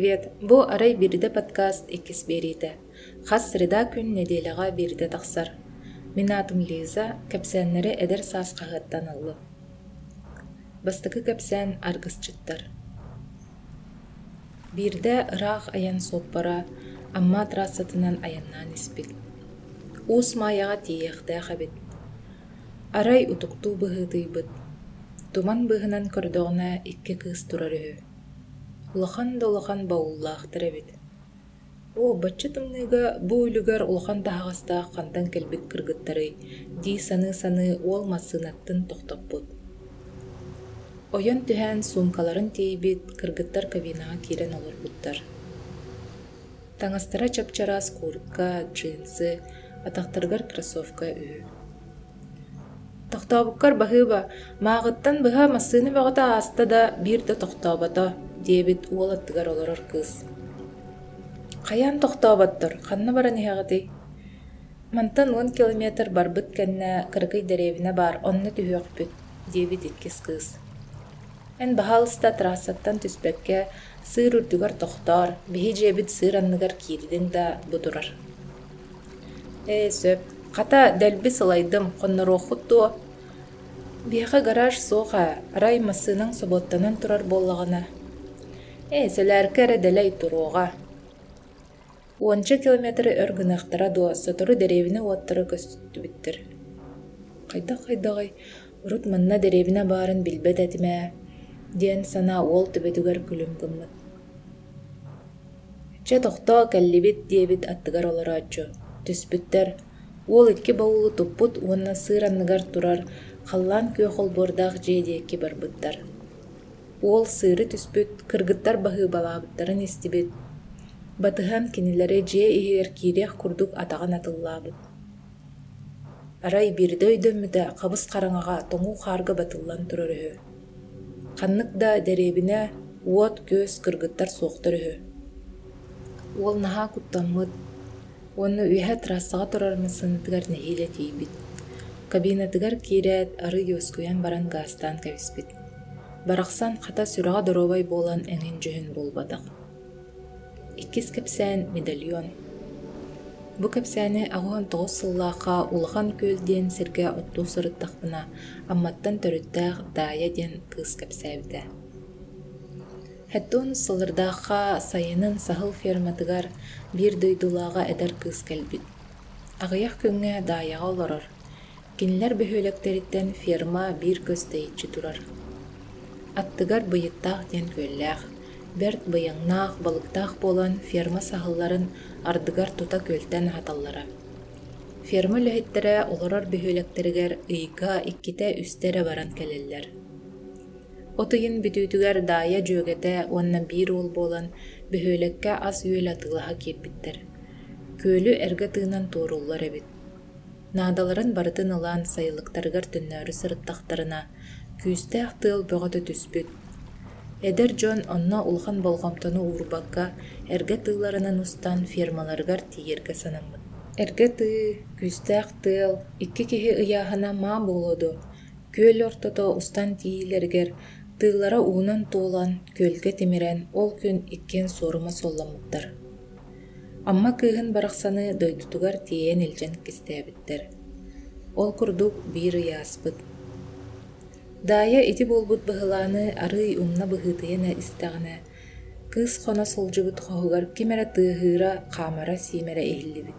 привет! Бу арай бириде подкаст иккис бериде. Хас среда күн неделяга бириде тахсар. Мен атым Лиза, кепсәннәре эдер саас кагыттан аллы. Бастыкы кепсән аргысчыттар. Бирде ырах аян соппара, амма трассатынан аяннан испит. Ус маяга тиехтә хабит. Арай утукту быһытыйбыт. Туман быһынан көрдөгнә икки кыз турары. Улахан да улахан бауллаахтар эбит. Баччы тымныга бу үлүгөр улахан тахагаста кандан келбик кыргыттары ди саны ол масынаттын тохтоппут. Ойон түһэн сумкаларын тейбит кыргыттар кабинага кирен олорбуттар. Таңастара чапчарас куртка, джинсы, атактаргар кроссовка үһү. Тохтобуккар баһыба, маагыттан быһа масыны багата аста да бир да тохтобата диэбит уолаттыгар олорор кыз. Каян тохтобаттыр, ханна баран иһагыты. Мантан 10 километр барбыт кэннэ кыргый деревине бар, онны түһөкпүт диэбит иккис кыз. Эн баһалыста трассаттан түспекке сыыр үрдүгар тохтор, биһи жебит сыыр анныгар киирдин да будурар. Сөп, ката дэлби сылайдым, коннорохутту. Биэха гараж соха, арай масынын соботтанан турар боллагана. Сэлэркэ дэлэй туруога. 10 километр өргүнахтара дуа сотору деревине уаттары көстүбүттер. Кайдагай, урут манна деревине барын билбет этиме, диэн сана ол түбетүгер күлүм гыммыт. Че тохто кэллибит диэбит аттыгар олорааччу. Түспүттер, ол икки баулу туппут уонна сыыранныгар турар, халлан күйөхол бордаах же диэкки барбыттар. Ол сыыры түспүт, кыргыттар баһыы балаабыттарын истибит. Батыхан кинилери же иһигер киирех курдук атаган атыллаабыт. Арай бирде өйдөммүтэ кабыс караңага тоңуу хаарга батыллан турарыһы. Ханнык да деребине уот көс кыргыттар суохторыһы. Ол наһаа куттаммыт. Онну үөһэ трассага турармысыныттыгар нэһиилэ тиийбит. Кабинатыгар киирээт ары юоскуян баран гаастаан кэбиспит. Барахсан хата сүрэҕэ доробай буолан эҥин дьүһүн буолбатах. Иккис кэпсээн медальон. Бу кэпсээни аҕуһан тоҕус сыллаахха улахан күөл диэн сиргэ оттуу сырыттахпына амматтан төрүттээх Дая диэн кыыс кэпсээбитэ. Хэттуун сылырдаахха сайынын сахыл ферматыгар биир дойдулаага эдер кыыс кэлбит. Аҕыйах күҥҥэ Даяга олорор. Кинилэр бөһүөлэктериттэн ферма биир көс тэйиччи турар. Аттыгар быйыттаах диэн күөллээх. Берт быйаңнаах, балыктаах болан ферма сахылларын ардыгар тута көлтэн хаталлара. Ферма лөһүттэрэ олорор бөһүөлэктеригэр ыйга икките үстерэ баран келеллер. Отыйын бүтүүтүгэр Дая дьүөгэтэ уонна биир уол болан бөһүөлекке ас үөл атыылаха киирбиттер. Көөлү эргэ тыынан тууруллар эбит. Наадаларын барытын ылаан сайылыктарыгар түннөөрү сырыттахтарына күүстээх тыал бөҕөтө түспүт. Эдер дьон онно улхан болгомтону уурбакка эргэ тыыларынан устан фермаларыгар тииргэ санаммыт. Эргэ тыы, күүстээх тыал, икки киһи ыйааһына маа буолуоду. Күөл ортото устан тиилэригэр тыылара уунан туулан, күөлгэ тимирэн ол күн иккен суорума солламмыттар. Амма кыыһын барахсаны дойдутугар тиээн илдьэн кистээбиттер. Ол курдук биир ыйааспыт. Дая ити болбут быһылааны арый умна быһыытыйана истэҕинэ. Кыыс хоно сылдьыбыт хоһугар кимэрэ тыаһыыра хаамара сиимэрэ иһиллибит.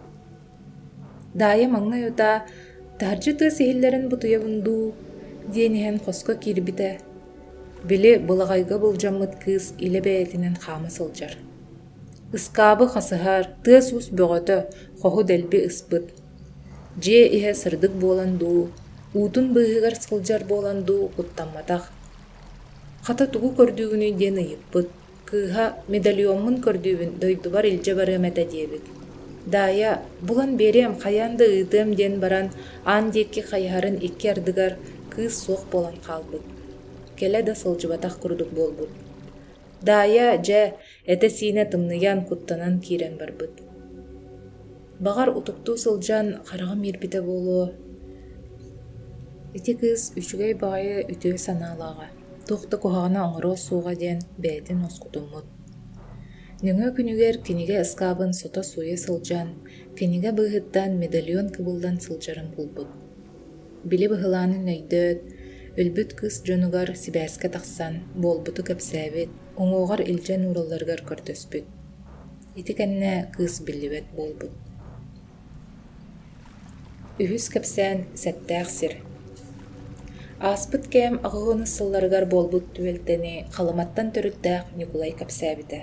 Дая маҥҥа юта таһырдьы тыас иһиллэрин бутуйабындуу диэниһэн хоско киирбитэ. Били былаҕайга былдьаммыт кыыс илэ бэйэтинэн хаама сылдьар. Ыскаабы хасыһар, тыас ус бөҕөтө, хоһу дэлби ыспыт. Дьиэ иһэ сырдык буолан дуу, уутун быыһыгар сылдьар буолан дуу куттамматах. Хата тугу көрдүүгүнү диэн ыйыппыт. Кыыһа медальонмун көрдүүбүн дойдубар илдьэ барыам этэ диэбит. Дая, булан бериэм хайаан да ыытыам диэн баран аан диэкки хайыһарын икки ардыгар кыыс суох буолан хаалбыт. Келэ да сылдьыбатах курдук буолбут. Дая дьэ этэ сиинэ тымныйан куттанан киирэн барбыт. Багар утуктуу сылдьан хараҕа миирбитэ буолуо. Ити кыыс үчүгэй баҕайы үтүө санаалаага. Туохта куһаҕана оҥороо сууға диэн бээтин оскутуммут. Нөңө күнүгер киниге ыскабын сото суя сылжан, киниге быһыттан медальон кыбылдан сылжарын булбут. Били быһылаанын өйдөт, өлбүт кыз дьонугар сибээске тахсан, болбуту кэпсээбит, оҥоҕор илдьэн уралларыгар көрдөспүт. Ити кэннэ кыз билибет болбут. Үһүс кэпсээн сэттээх сир. Ааспыт кэм аҕыһын ысылларыгар болбут түбэлтэни халыматтан төрүттээх Никулай кэпсээбитэ.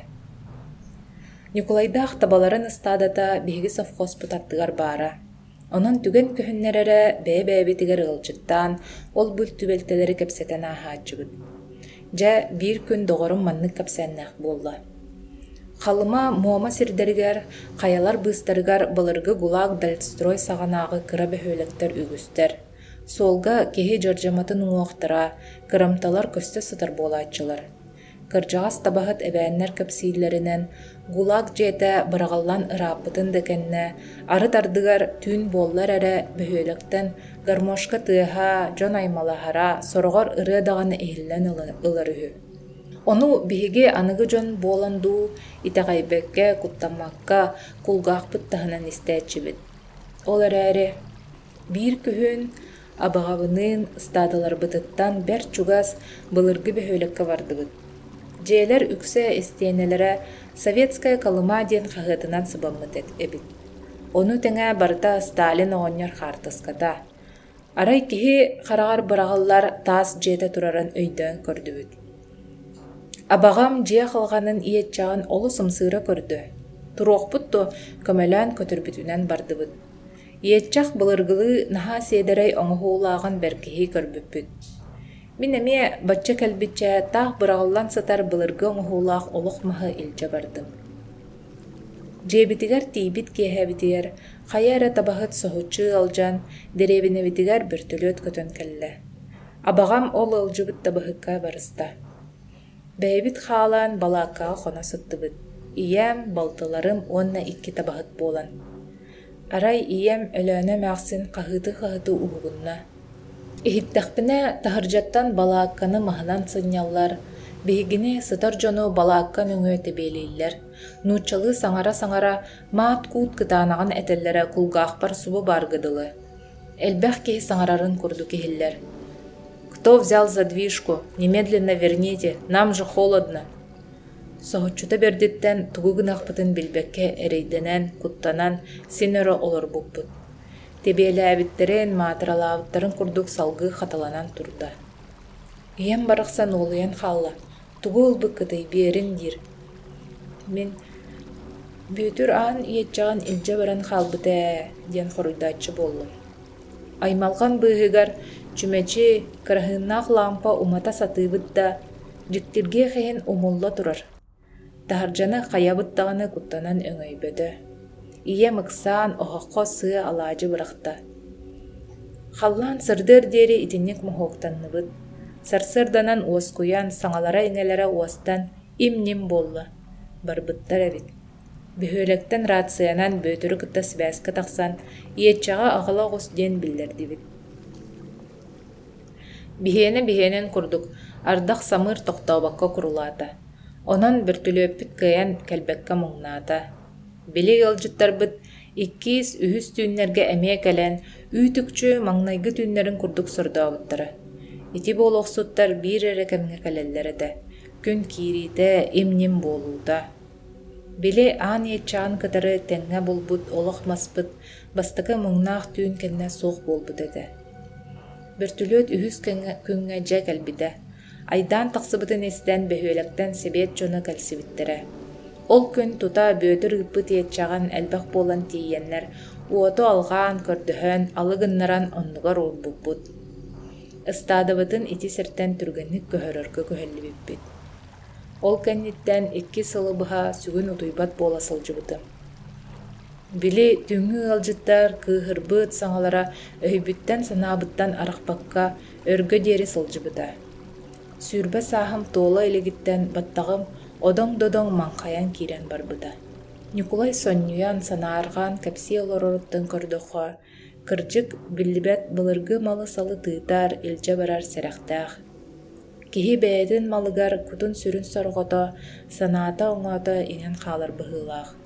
Никулайдаах табаларын ыстаадата биһиги совхозпут аттыгар баара. Онон түген көһүннэрэрэ бэйэбэйбитигэр ылчыттаан ол бүл түбэлтэлери кэпсэтэн ааһааччыбыт. Дьэ биир күн доҕорун маннык кэпсээннээх буолла. Халыма муома сирдэригэр, хайалар быыстарыгар балыргы гулаак дальстрой саҕанааҕы кыра бөһүөлэктэр үгүстэр. Солга киһи дьардьаматын уҥуохтара, кырамталар көстө сытар буолааччылар. Кырдьаҕас табаһыт эбээннэр кэпсииллэринэн гулаак дьиэтэ быраҕаллан ырааппытын да кэннэ, ары тардыгар түүн буоллар эрэ бөһүөлэктэн гармошка тыаһа, дьон аймалаһара, сороҕор ырыа даҕаны иһиллэн ылар үһү. Ону биһиги аныгы дьон буолан дуу итэҕэйбэккэ, куттаммакка кулгаахпыт таһынан истээччибит. Ол эрээри: биир күһүн абаҕабынын ыстаадаларбытыттан бэр чугас былыргы бөһүөлекке бардыбыт. Дьиэлэр үксэ истиэнэлэрэ советская калыма диэн хаһыатынан сыбаммыт эбит. Ону тэҥэ барыта Сталин оҕонньор хаартыската. Арай киһи хараҕар быраҕаллар таас дьиэтэ тураран өйдөөн көрдүбүт. Абаҕам дьиэ халҕанын иэччэҕин олу сымсыыра көрдө. Туруохпутту көмөлөөн көтөрбүтүнэн бардыбыт. Иэччэх былыргылыы наһаа сиэдэрэй оҥоһуулааҕын бэркиһии көрбүппүт. Мин эмиэ бачча кэлбиччэ таах быраҕаллан сытар былыргы оҥоһуулаах олох маһы илдьэ бардым. Дьиэбитигэр тиибит киэһэбитигэр хайа эрэ табаһыт соһуччуу алдьан дэриэбинэбитигэр бөртөлүөт көтөн кэллэ. Абаҕам ол ылдьыбыт табыһыкка барыста. Бэйэбит хаалаан балааккаҕа хоно сыттыбыт. Ийэм, балтыларым уонна икки табаһыт буолан. Арай ийэм өлөөнө мээхсин хаһыты уһугунна. Иһиттэхпинэ таһырдьаттан балаакканы маһынан сынньаллар, биһигини сытар дьону балаакка нүҥүө тэбиэлииллэр, нууччалыы саҥара-саҥара маат куут кытаанаҕын этэллэрэ кулгаахпар субу бааргыдылы. Элбэх киһи саҥарарын курду киһиллэр: «Кто взял задвижку? Немедленно верните, нам же холодно». Соһуччута бердиттэн тугу гынаахпытын билбэкке эрэйдэнэн, куттанан син өрө олорбуппут. Тебиэлээбиттерин, маатыралаабыттарын курдук салгыы хаталанан турда. Ийэм барахсан уолуйан хаалла, тугу ылбык кытайбиэрин диир. Мин «Бүтүр аан иэччэҕин илдьэ баран хаалбытэ» диэн хоруйдааччы буоллум. Аймалган быыһыгар чүмэчи кыраһыыннаах лампа умата сатыыбыт да дьиктиргиэ хэһин умулла турар. Таһырдьаны хайабыттаҕаны куттанан өҥөйбөтө. Ийэм ыксаан оһоххо сыа алаадьы бырахта. Халлаан сырдыар диэри итинник моһуоктанныбыт. Сарсыарданан уоскуйан саҥалара иҥэлэрэ уостан им-ним буолла. Барбыттар эбит. Бөһүөлэктэн раацыянан бөтөрү кытта сибээске тахсан, иэччэҕэ аҕала оҕус диэн биллэрдибит. Биһиэнэ курдук, ардах самыыр тохтообакка курулаата. Онон бөртүлүөппүт кыайан кэлбэкке муҥнаата. Били ылдьыттарбыт иккиис үһүс түүннэргэ эмиэ кэлэн үүтүкчү маҥнайгы түүннэрин курдук сордообуттара. Ити буолуохсуттар биир эрэ кэмҥэ кэлэллэрэтэ, күн киириитэ им-ним буолуута. Били аан иэччэҕин кытары тэҥҥэ булбут олох маспыт, бастакы муҥнаах түүн кэннэ суох буолбут этэ. Бөртүлүөт үһүс күҥҥэ дьэ кэлбитэ. Айдаан тахсыбытын истэн бөһүөлэктэн себиэт дьоно кэлсибиттерэ. Ол күн тута бөтөр ыппыт иэччэҕин элбэх буолан тиийэннэр уоту алҕаан көрдөһөн алыгыннаран оннугар уурбуппут. Ыстаадабытын ити сиртэн түргэнник көһөрөргө көһөллүбүппүт. Ол кэнниттэн икки сылыбыһа сүгүн утуйбат буола сылдьыбытым. Били түҥҥү ылдьыттар кыыһырбыт саҥалара өйбүттэн санаабыттан арахпакка өргө диэри сылдьыбыта. Сүүрбэ сааһым туола илигиттэн баттаҕым одоҥ-додоҥ маҥхайан киирэн барбыта. Никулай сонньуян санааргаан кэпсии олороруттан көрдөххө, кырдьык биллибэт былыргы малы салы тыытаар илдьэ барар сэрэхтээх. Киһи бэйэтин малыгар кутун сүрүн сорҕото, санаата оҥоото иҥэн хаалар быһыылаах.